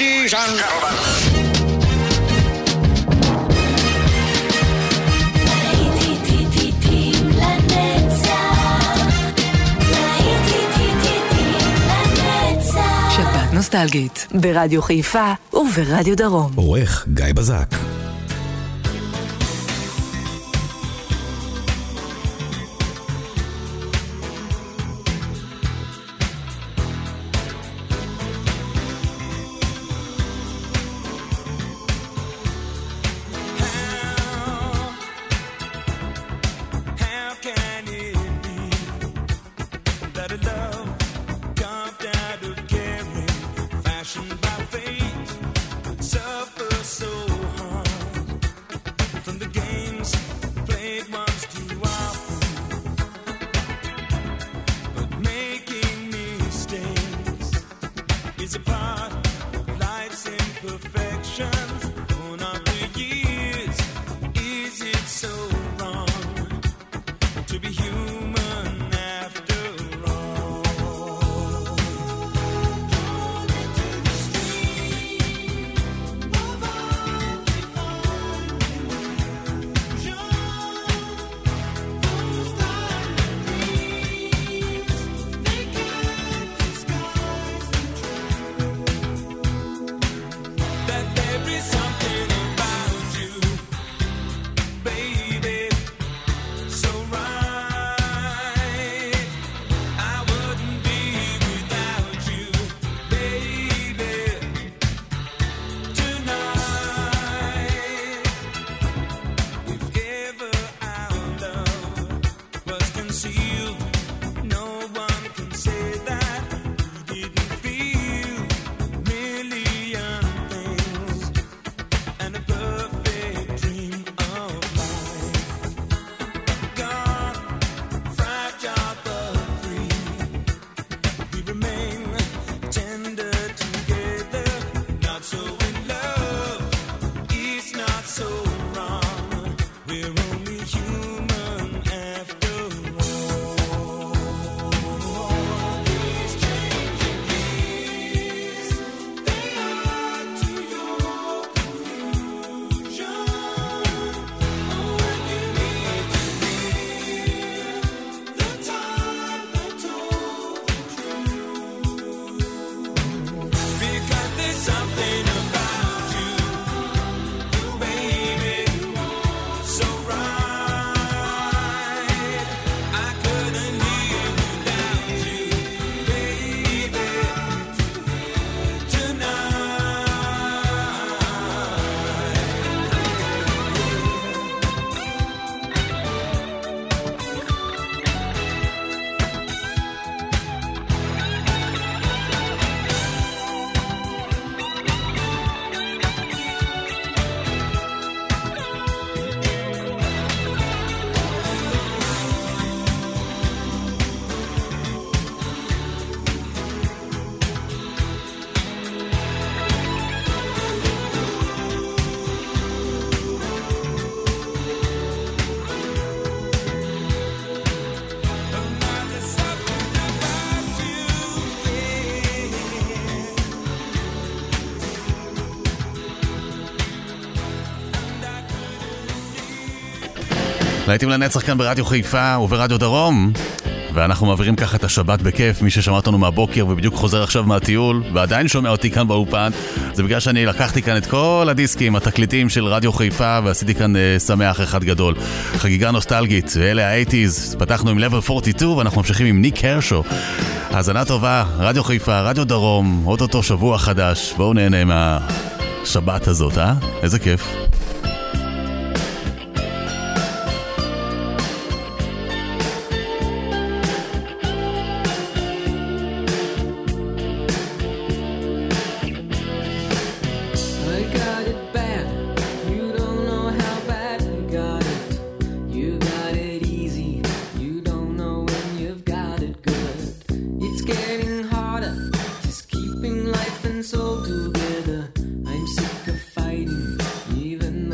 Ladies and gentlemen. שבת נוסטלגית ברדיו חיפה וברדיו דרום. עורך גיא בזק. להיטים לנצח כאן ברדיו חיפה וברדיו דרום, ואנחנו מעבירים ככה את השבת בכיף. מי ששמע אותנו מהבוקר ובדיוק חוזר עכשיו מהטיול ועדיין שומע אותי כאן באופן, זה בגלל שאני לקחתי כאן את כל הדיסקים, התקליטים של רדיו חיפה, ועשיתי כאן שמח אחד גדול, חגיגה נוסטלגית. ואלה ה-80s, פתחנו עם Level 42 ואנחנו ממשיכים עם ניק הרשו. האזנה טובה, רדיו חיפה, רדיו דרום, עוד אותו שבוע חדש. בואו נהנה מהשבת הזאת, איזה כיף. Life and soul together. I'm sick of fighting, even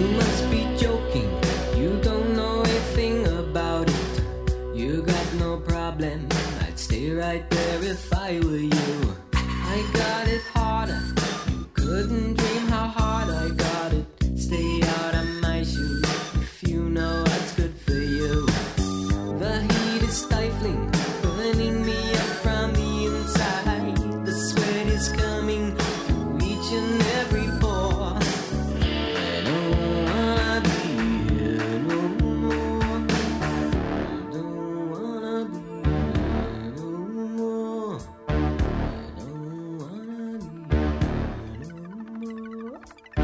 must be joking, you don't know a thing about it. You got no problem, I'd stay right there if I were you. I got it harder, you couldn't dream how hard I got it. Stay out of my shoes if you know what's good for you. The heat is stifling, burning me up from the inside. The sweat is coming through each and every pore. I don't wanna be here no more. I don't wanna be here no more. I don't wanna be here no more.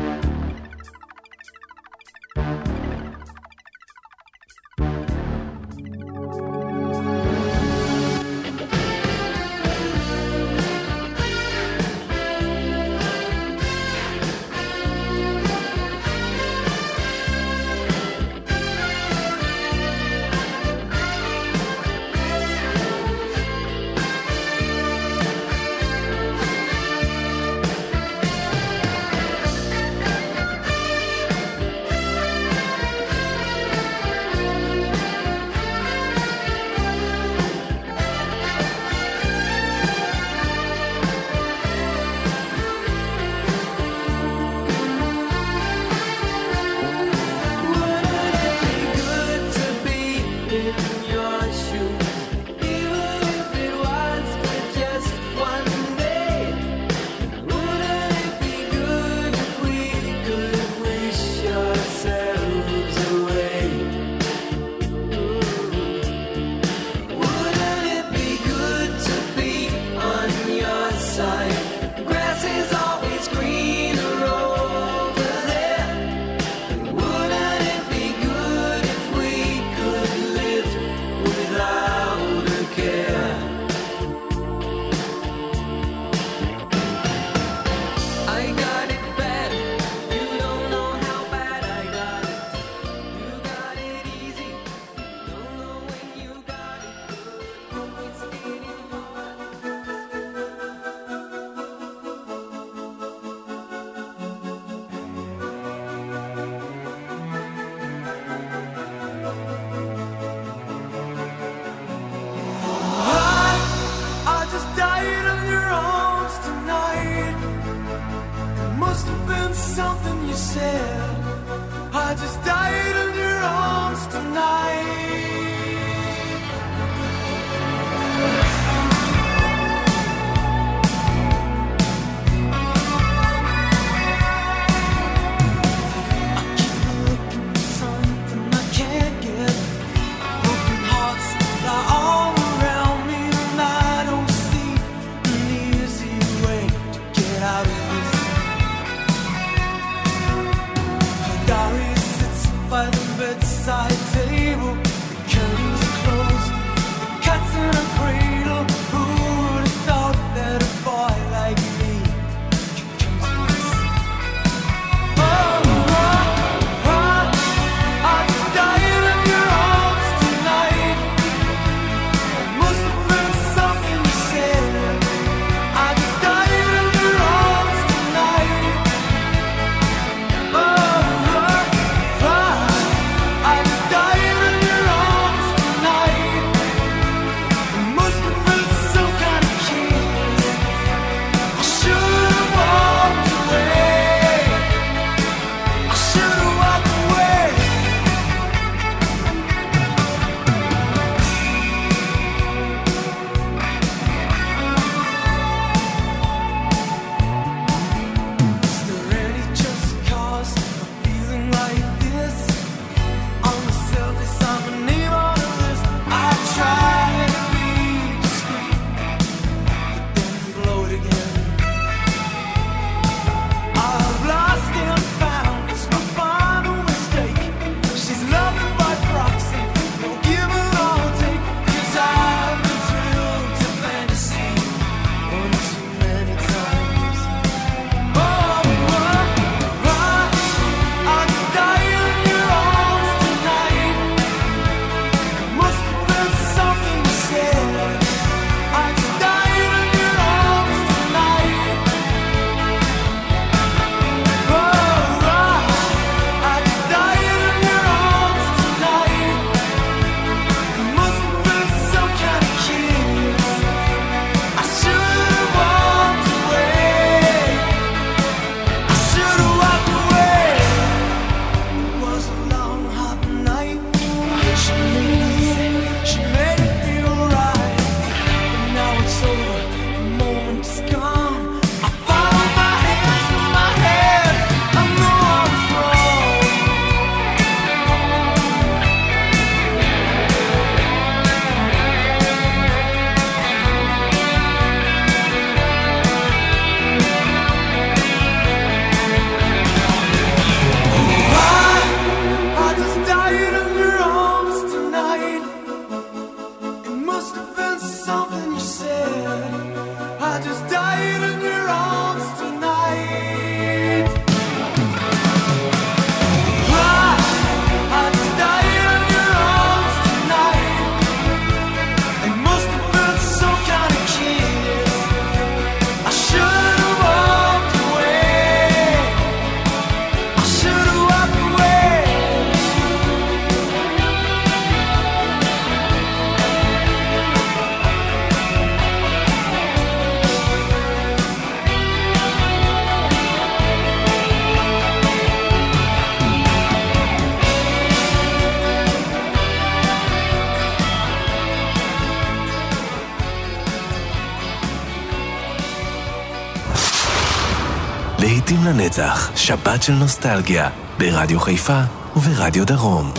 I just died in your arms tonight. I keep looking for something I can't get. Broken hearts lie all around me, and I don't see an easy way to get out of this. Gary sits by the bedside table, the curtains are closed, the cat's in a cradle. Who would have thought that a boy like me could come to this? I just died in your arms tonight. It must have been something you said. I just died in your arms tonight. I just died in your לנצח, שבת של נוסטלגיה, ברדיו חיפה וברדיו דרום.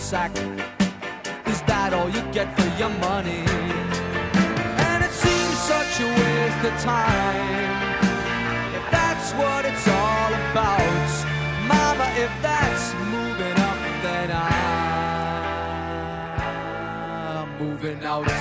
sack. Is that all you get for your money? And it seems such a waste of time. If that's what it's all about, Mama, if that's moving up, then I'm moving out.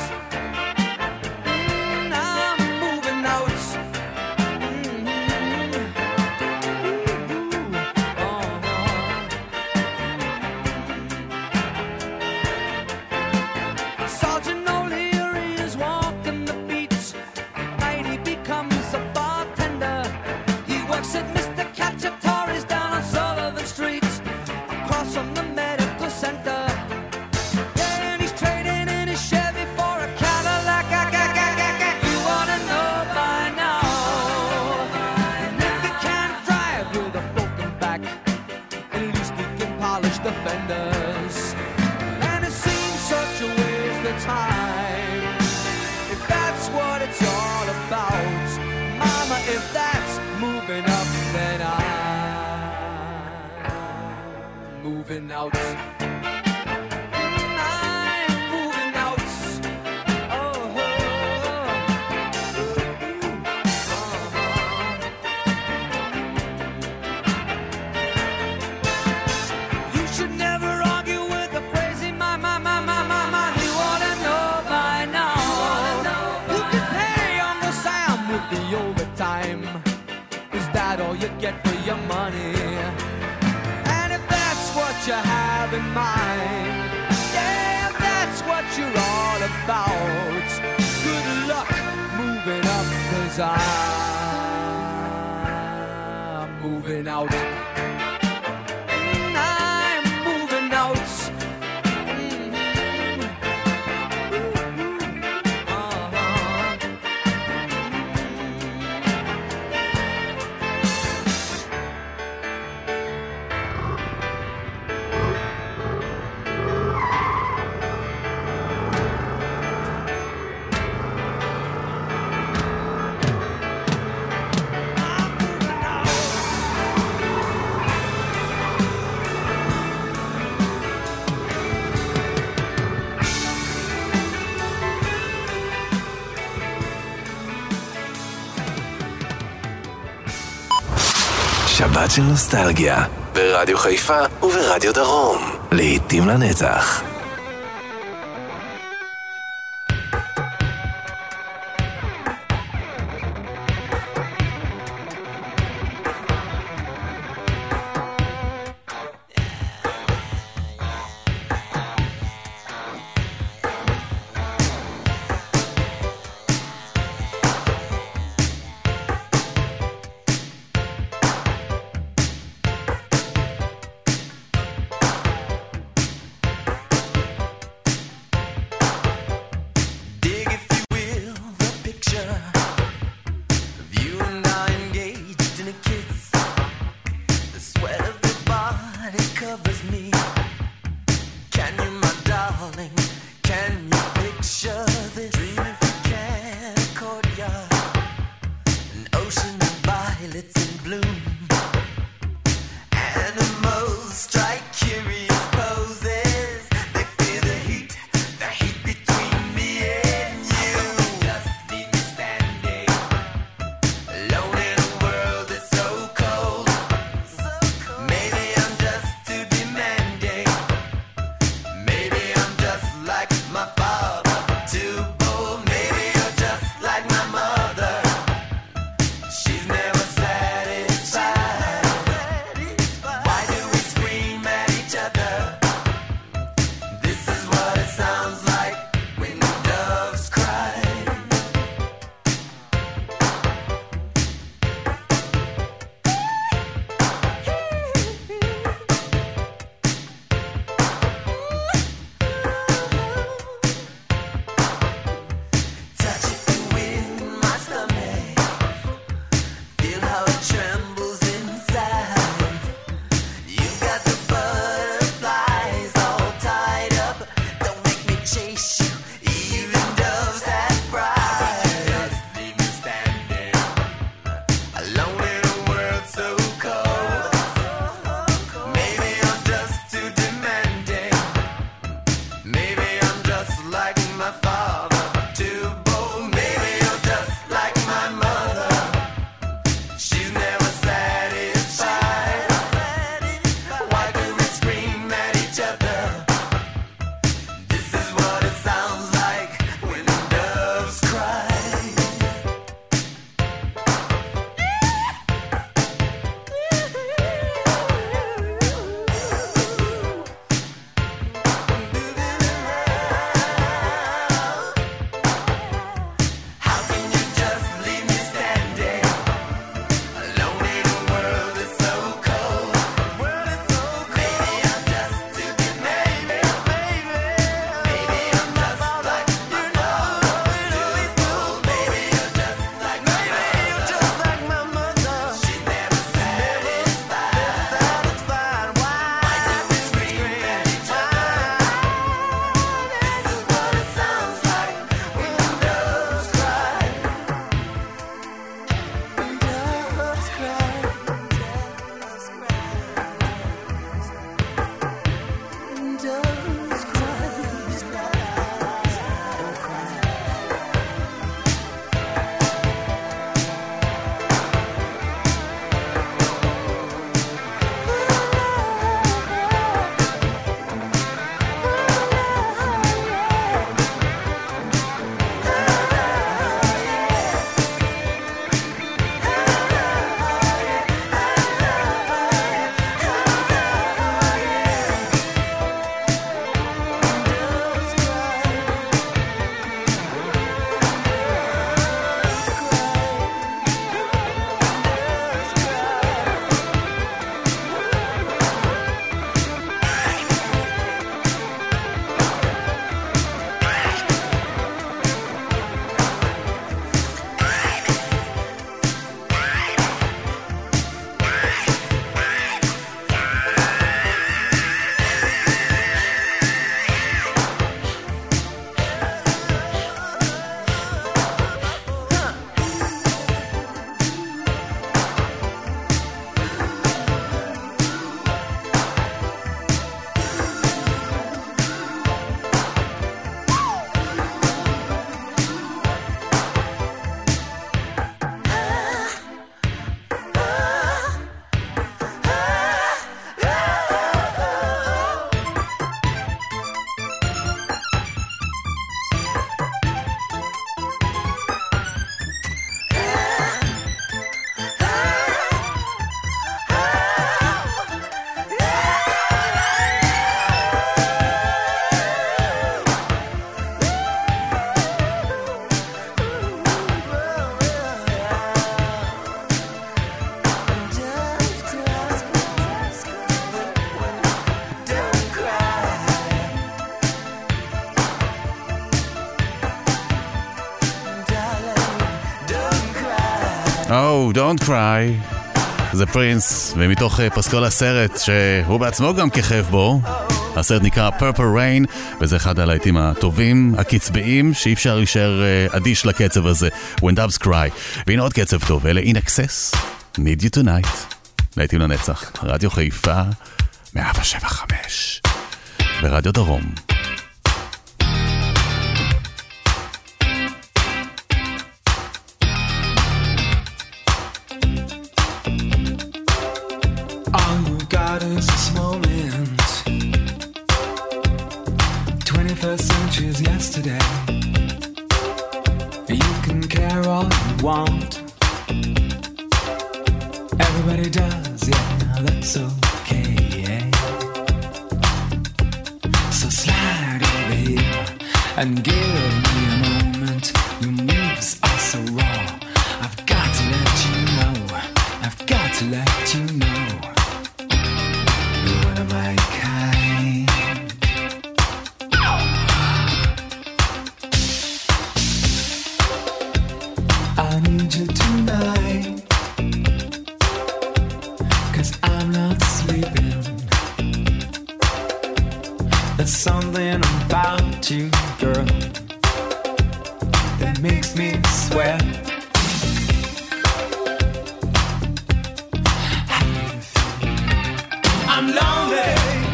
Moving out. I'm moving out. Oh, You should never argue with a crazy man. You ought to know by now. You can pay Uncle Sam with the overtime. Is that all you get for your money? What you have in mind, yeah, that's what you're all about. Good luck moving up, 'cause I'm moving out. I'm moving out. שבת של נוסטלגיה, ברדיו חיפה וברדיו דרום, לעתים לנצח. Oh, don't cry. זה פרינס, ומתוך פסקול הסרט שהוא בעצמו גם כיכב בו. הסרט נקרא Purple Rain, וזה אחד הלהיטים הטובים, הקצביים, שאי אפשר להישאר אדיש לקצב הזה, When Doves Cry. והנה עוד קצב טוב, אלה In Excess, Need You Tonight. להיטים לנצח, רדיו חיפה, 107.5, ברדיו דרום. Is this moment 21st century is yesterday. You can care all you want, everybody does, yeah, that's okay. So slide over here and give me a moment. Your moves are so raw, I've got to let you know, I've got to let you know. My kind. I need you tonight, 'cause I'm not sleeping. There's something about you, girl, that makes me sweat. I'm lonely.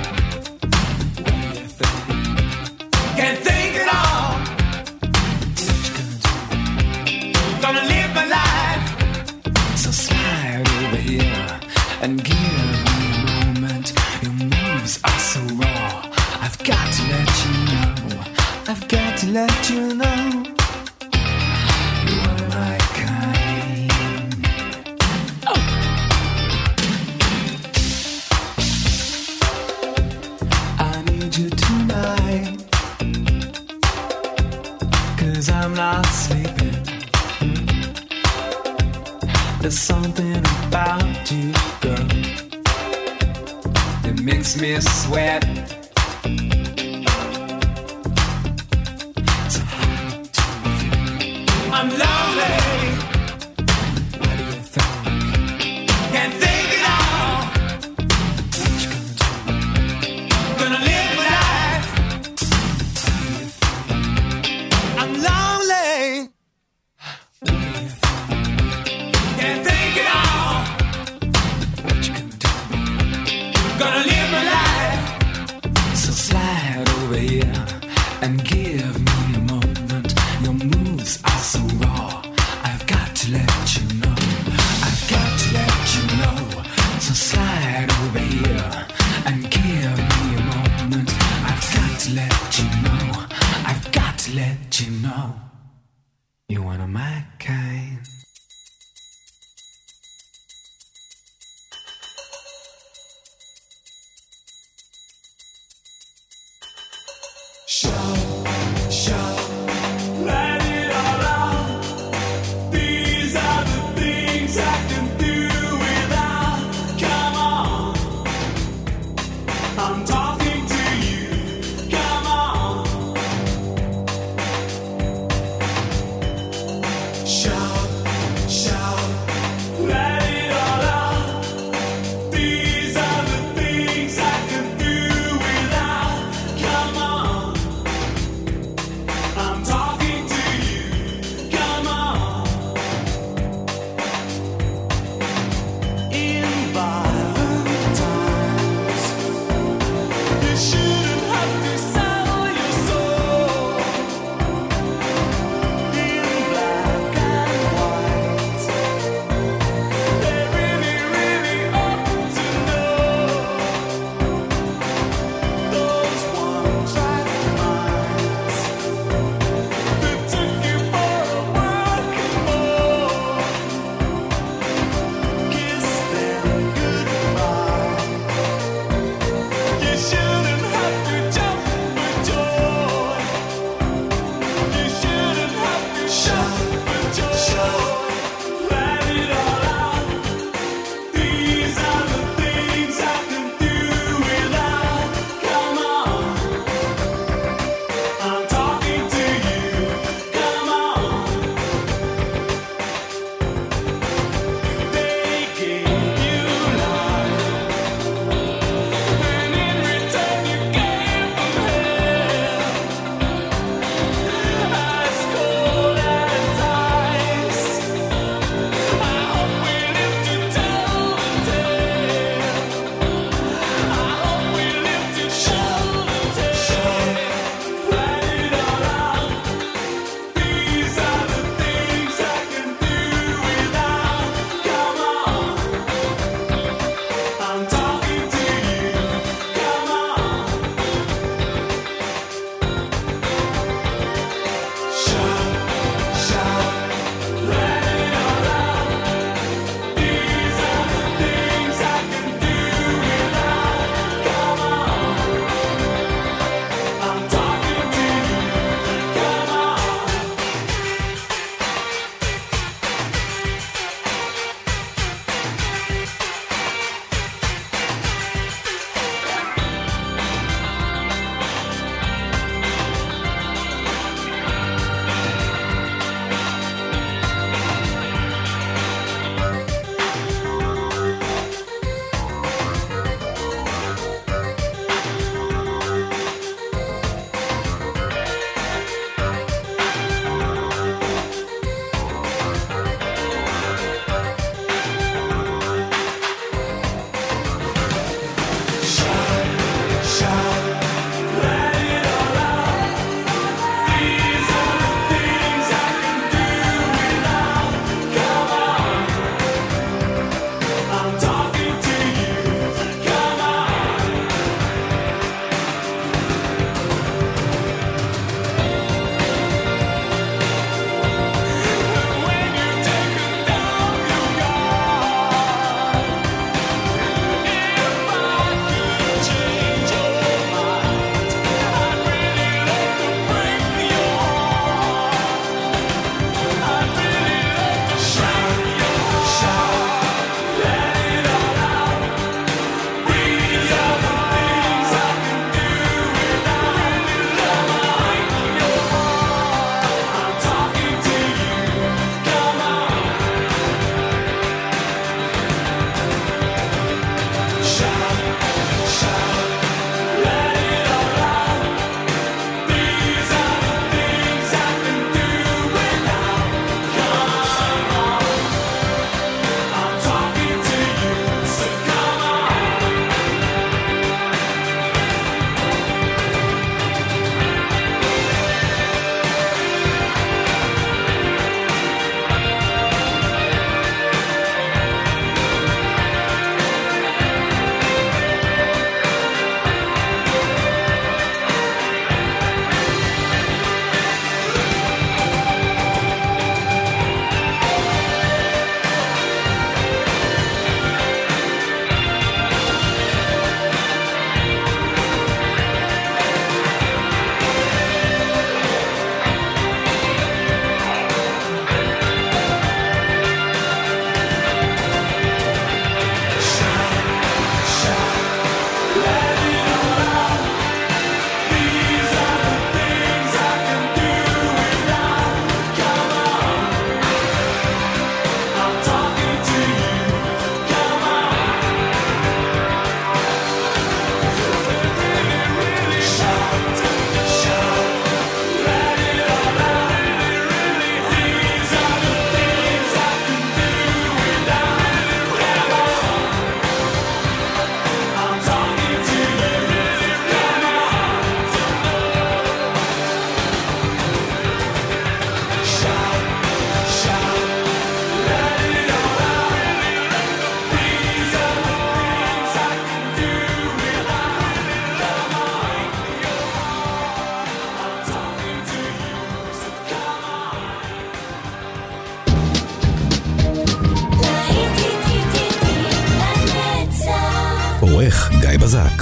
Can't think at all. Gonna live my life. So slide over here and give me a moment. Your moves are so raw, I've got to let you know, I've got to let you know. You are my kind. Oh. I need you tonight, 'cause I'm not sleeping. There's something about you, girl, that makes me sweat. So hard to feel. I'm lonely. What do you think? Can't think at all. What you gonna do? Gonna live my life. I'm lonely. Can't think at all. What you gonna do? Gonna live my life. So slide over here and give me a moment. Your moves are so raw, I've got to let you know, I've got to let you know. So slide over here and give me a moment. I've got to let you know, I've got to let you know. You're one of my kind. Shout, let it all out. These are the things I can do without. Come on, I'm talking to you. Come on. Shout, let it all out. These are the things I can do without. Come on, I'm talking to you. Come on. In violent times, you shouldn't have to sell your soul. In black and white, they really, really ought to know. Those one-track minds, גיא בזק.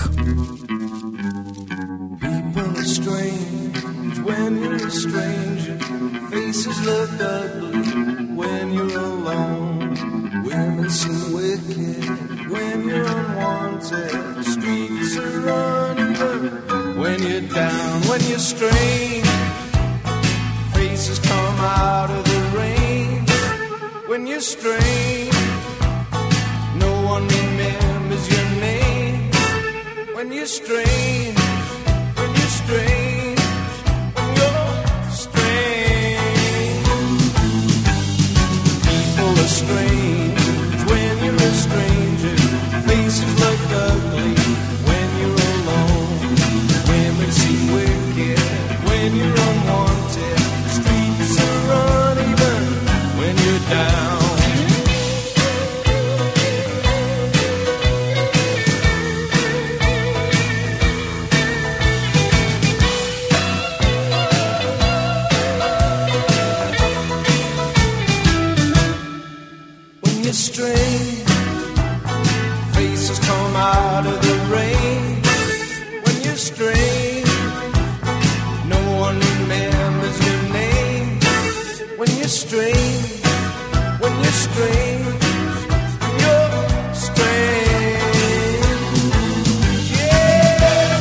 People are strange when you're a stranger. Faces look ugly when you're alone. Women seem wicked when you're unwanted. Streets are uneven when you're down, when you're strange. Faces come out of the rain when you're strange. No one remembers your name when you're strange. When you're strange. When you're strange. People are strange when you're a stranger. Faces look ugly when you're alone. Women seem wicked when you're unwanted. Streets are uneven when you're down. When you're strange, faces come out of the rain. When you're strange, no one remembers your name. When you're strange, when you're strange, when you're strange, yeah.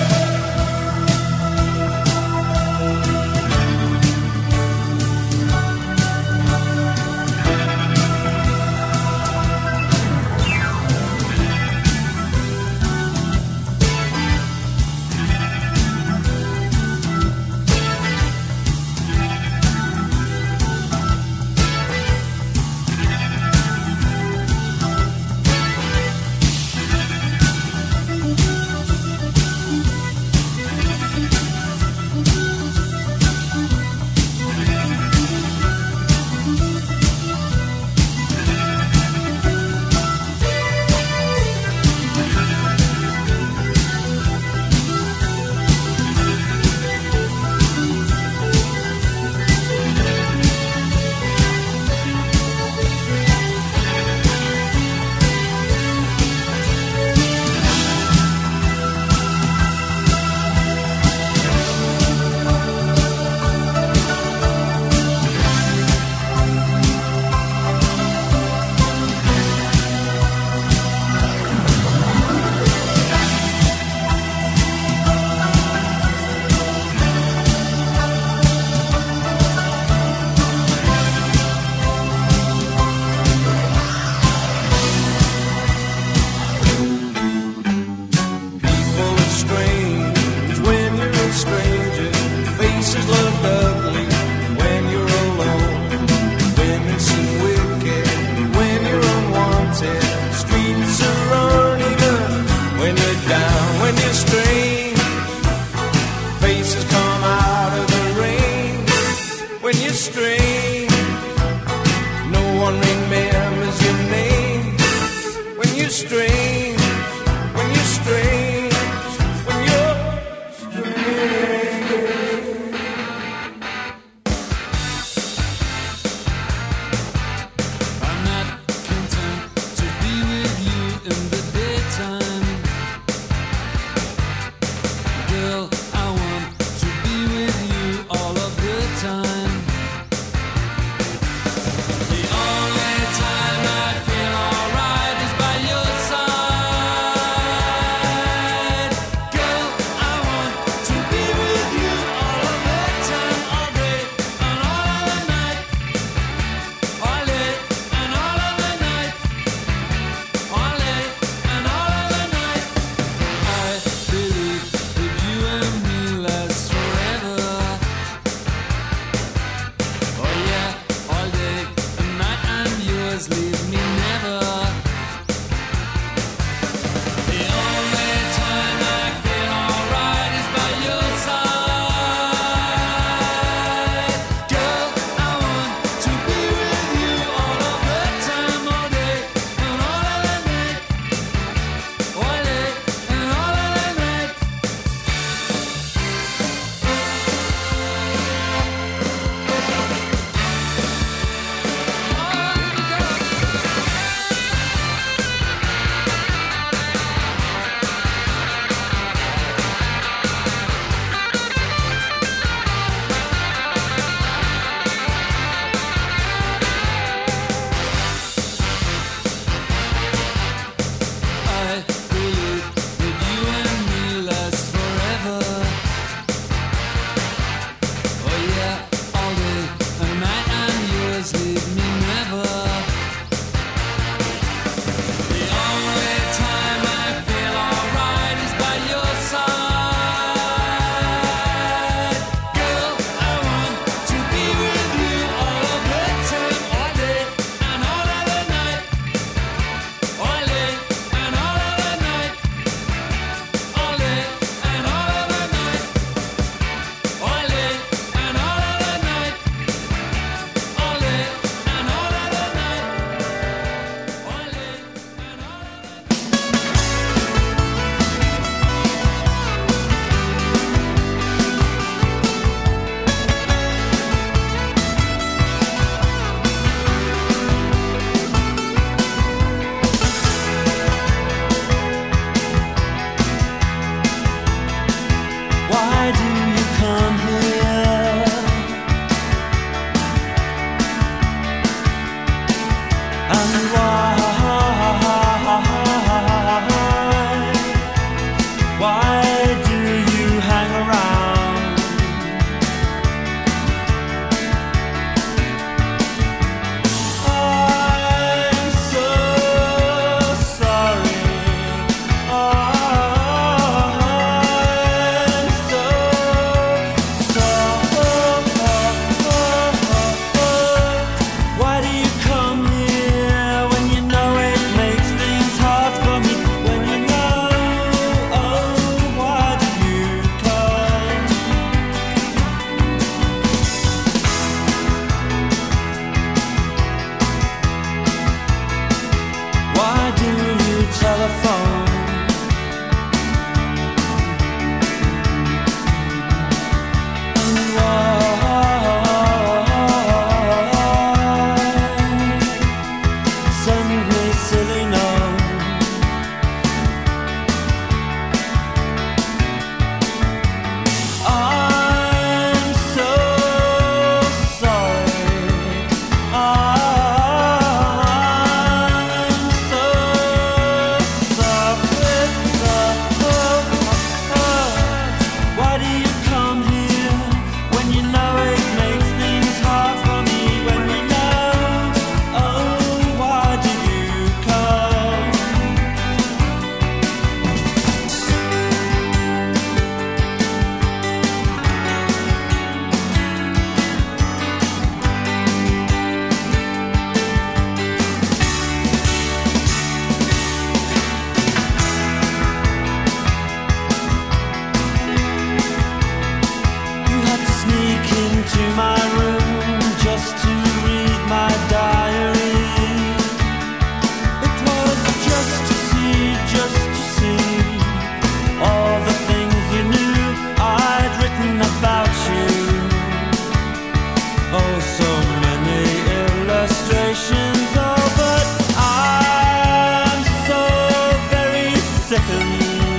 Oh, so many illustrations. Oh, but I'm so very sickened.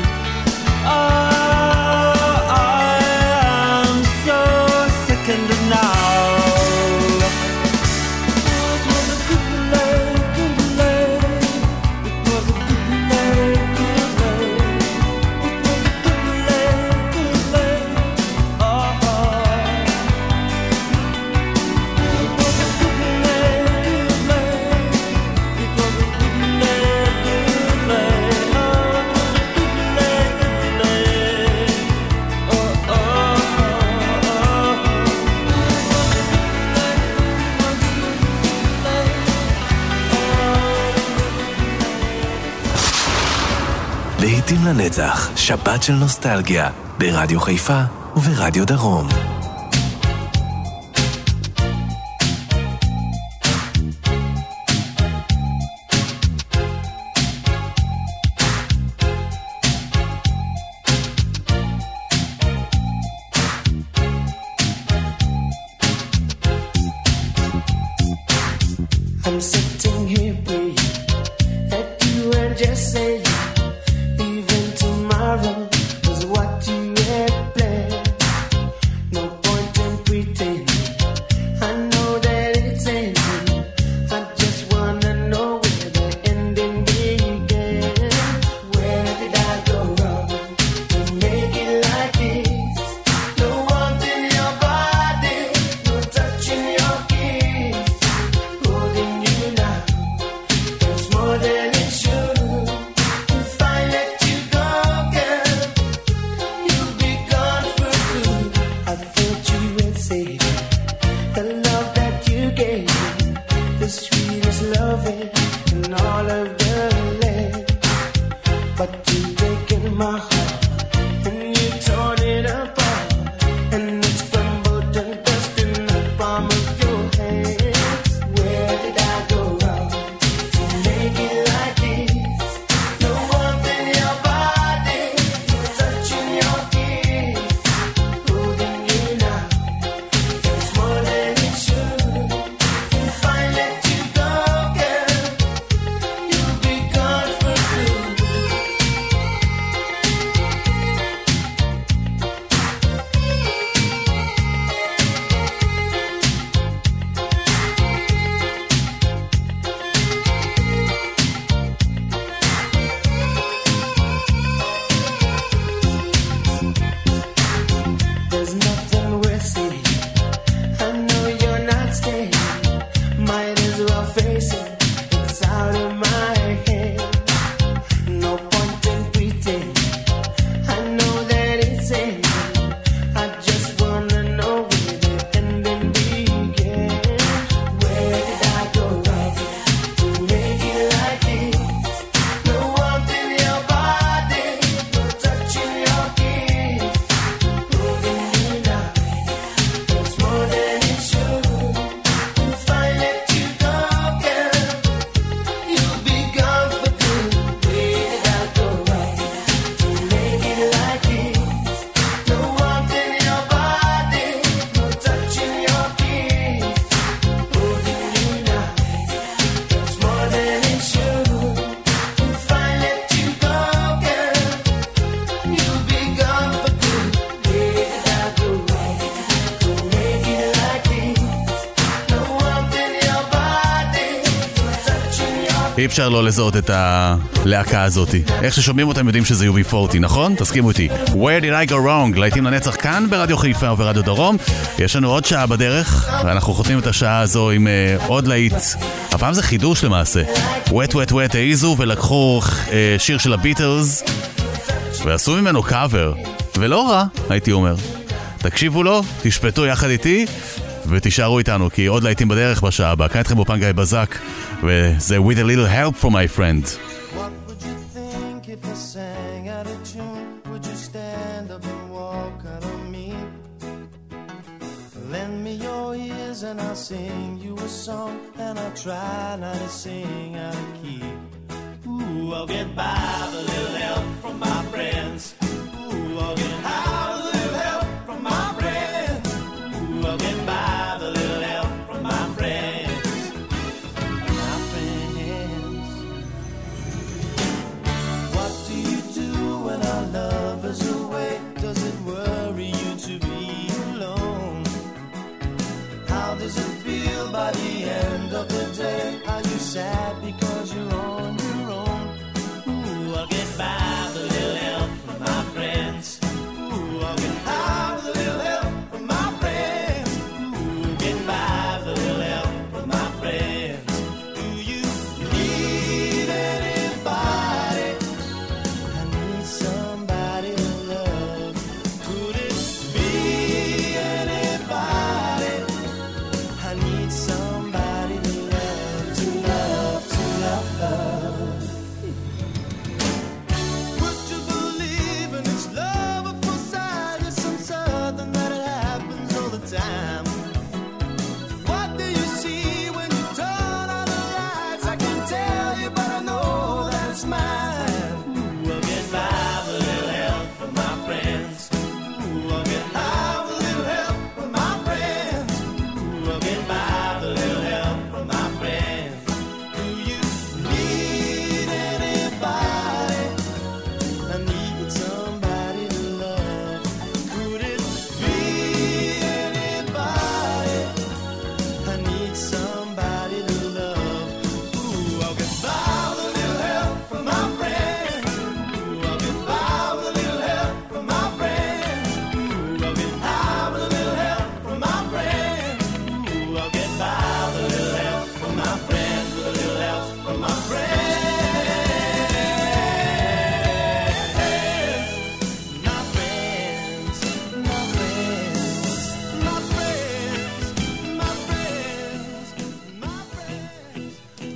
Oh, I am so sickened now. להיטים לנצח, שבת של נוסטלגיה, ברדיו חיפה וברדיו דרום. I'm sitting here praying that you and just say even tomorrow is what you had planned. No point in pretending. I know that it's ending. I just wanna know where the ending began. Where did I go wrong to make it like this? No warmth in your body, no touch in your kiss. Holding you now, it's more than it should. If I let you go, girl, you'll be gone for good. I thought you would say the love that you gave me, the sweetest loving in all of the land. But you've taken my heart and you torn it apart, and it's crumbled and dust in the palm of your hand. Where did I go wrong to make it like this? No warmth in your body, no touch in your kiss. Holding you now, it's more than it should. If I let you go, girl, you'll be gone for good. There's nothing worth saying. I know you're not staying. Might as well face it. It's out of my hand. No point in pretending. I know that it's ending. I just wanna know where the ending began. Where did I go wrong to make it like this? No warmth in your body, no touch in your kiss. Holding you now, it's more than it should. If I let you go, girl, you'll be gone for good. Where did I go wrong to make it like this? No warmth in your body, no touch in your kiss. Holding you now, it's more than it should. If I let you go, girl, you'll be gone for good. Where did I go wrong to make it like this? No warmth in your body, no touch in your אי אפשר לא לזהות את הלהקה הזאת. איך ששומעים אותם יודעים שזה UB40, נכון? תסכימו איתי. Where did I go wrong? להיטים לנצח כאן ברדיו חיפה וברדיו דרום. יש לנו עוד שעה בדרך, ואנחנו חותמים את השעה הזו עם עוד להיט. הפעם זה חידוש למעשה. Wet Wet Wet העיזו ולקחו שיר של הביטלס, ועשו ממנו קאבר. ולא רע, הייתי אומר. תקשיבו לו, תשפטו יחד איתי, ותישארו איתנו, כי עוד להיטים בדרך בשעה הבאה. כאן איתכם באופן גיא בזק, וזה With a Little Help from My Friend. What would you think if I sang out of tune? Would you stand up and walk out of me? Lend me your ears and I'll sing you a song, and I'll try not to sing out of key. Ooh, I'll get by with a little help from my friends. Ooh, I'll get by with a little help from my friends. Ooh, I'll get by with a little help. How does it feel by the end of the day? Are you sad because you're on your own? Ooh, I'll get by with a little help from my friends. Ooh, I'll get by with a little help from my friends. Ooh, get by with a little help from my friends. Do you need anybody? I need somebody to love. Could it be anybody? I need somebody to love, to love, to love. Would you believe in this love at first sight? Yes, I'm certain that it happens all the time. What do you see when you turn on the lights? I can't tell you, but I know that it's mine. Ooh, I'll get by with a little help from my friends. Ooh, I'll get by with a little help from my friends. Ooh, I'll get by with a little help from my friends. Do you need anybody? I need somebody to love. Could it be anybody? I need somebody to love. Ooh, I'll get by with a little help from my friends. Ooh, I'll get by with a little help from my friends. Ooh, I'll get by with a little help from my friends. Ooh, I'll get by with a little help from my friends. With a little help from my friends. My friends, my friends, my friends, my friends, my friends.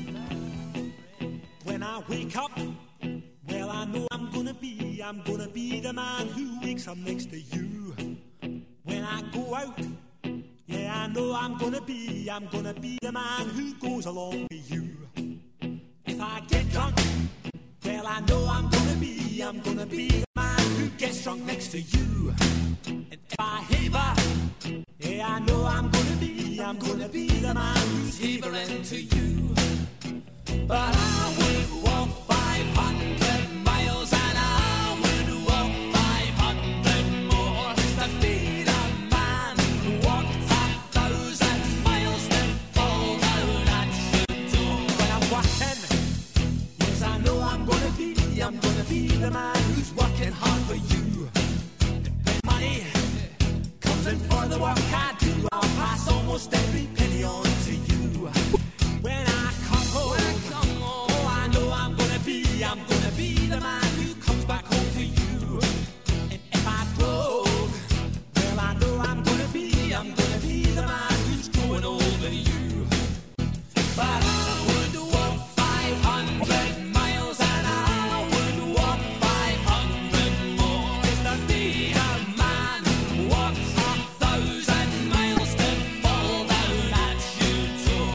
When I wake up, well, I know I'm gonna be the man who wakes up next to you. When I go out, yeah, I know I'm gonna be the man who goes along with you. If I get drunk, well, I know I'm gonna be the man who gets drunk next to you. And if I haver, yeah, I know I'm gonna be the man who's havering to you. But I would walk 500 miles and I would walk 500 more just to be the man who walked 1,000 miles to fall down at your door. When I'm walking, yes, I know I'm gonna be the man who's working hard for you. And when money comes in for the work I do, I'll pass almost every penny on to you. When I come home, oh, I know I'm gonna be the man who comes back home to you. And if I broke, well, I know I'm gonna be the man who's going over you. But I would walk 500 miles and I would walk 500 more just to be a man who walks 1,000 miles to fall down at your door.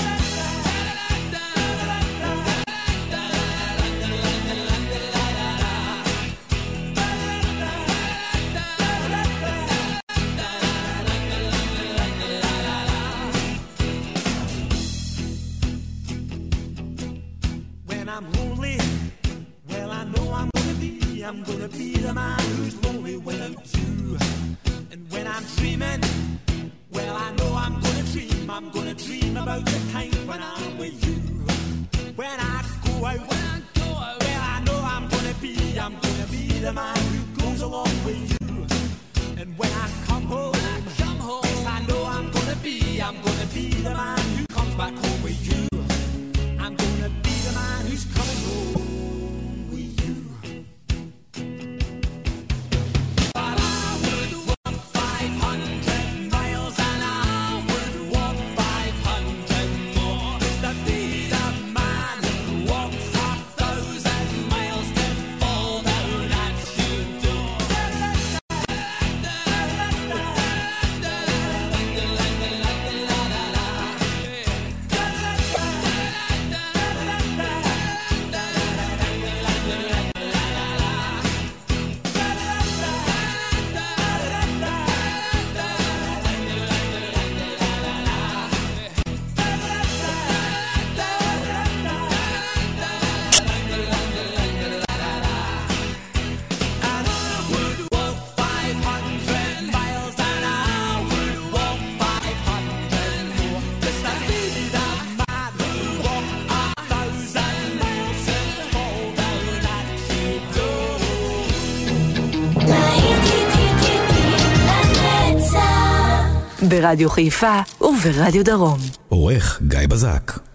When I'm lonely, well, I know I'm gonna be the man who's lonely without you. And when I'm dreaming, well, I know I'm gonna dream about the time when I'm with you. When I go out, well, I know I'm gonna be the man who goes along with you. And when I come home, yes, I know I'm gonna be the man who comes back home with you. I'm gonna be the man who's coming home with you. But I would walk 500 miles and I would walk 500 more just to be the man who walks 1,000 miles to fall down at your door. ברדיו חיפה וברדיו דרום. עורך גיא בזק.